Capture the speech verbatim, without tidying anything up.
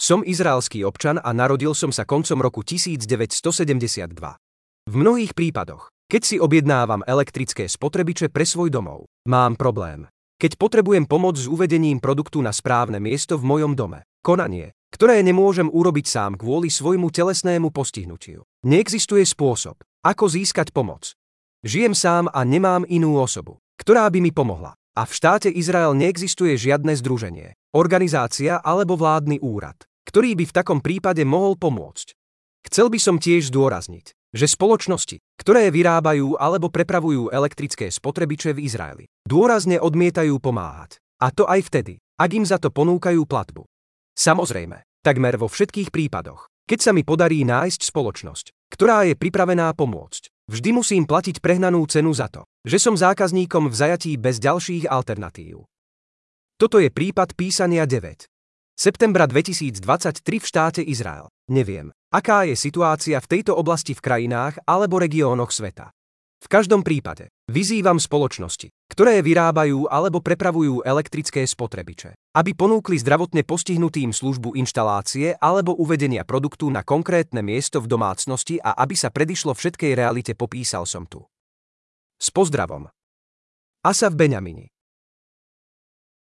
Som izraelský občan a narodil som sa koncom roku devätnásťstosedemdesiatdva. V mnohých prípadoch, keď si objednávam elektrické spotrebiče pre svoj domov, mám problém. Keď potrebujem pomoc s uvedením produktu na správne miesto v mojom dome, konanie, ktoré nemôžem urobiť sám kvôli svojmu telesnému postihnutiu. Neexistuje spôsob, ako získať pomoc. Žijem sám a nemám inú osobu, ktorá by mi pomohla. A v štáte Izrael neexistuje žiadne združenie, organizácia alebo vládny úrad, ktorý by v takom prípade mohol pomôcť. Chcel by som tiež zdôrazniť, že spoločnosti, ktoré vyrábajú alebo prepravujú elektrické spotrebiče v Izraeli, dôrazne odmietajú pomáhať. A to aj vtedy, ak im za to ponúkajú platbu. Samozrejme, takmer vo všetkých prípadoch, keď sa mi podarí nájsť spoločnosť, ktorá je pripravená pomôcť, vždy musím platiť prehnanú cenu za to, že som zákazníkom v zajatí bez ďalších alternatív. Toto je prípad písania deväť septembra dvetisícdvadsaťtri v štáte Izrael. Neviem, aká je situácia v tejto oblasti v krajinách alebo regiónoch sveta. V každom prípade vyzývam spoločnosti, ktoré vyrábajú alebo prepravujú elektrické spotrebiče, aby ponúkli zdravotne postihnutým službu inštalácie alebo uvedenia produktu na konkrétne miesto v domácnosti a aby sa predišlo všetkej realite, popísal som tu. S pozdravom. Asaf Beňamini.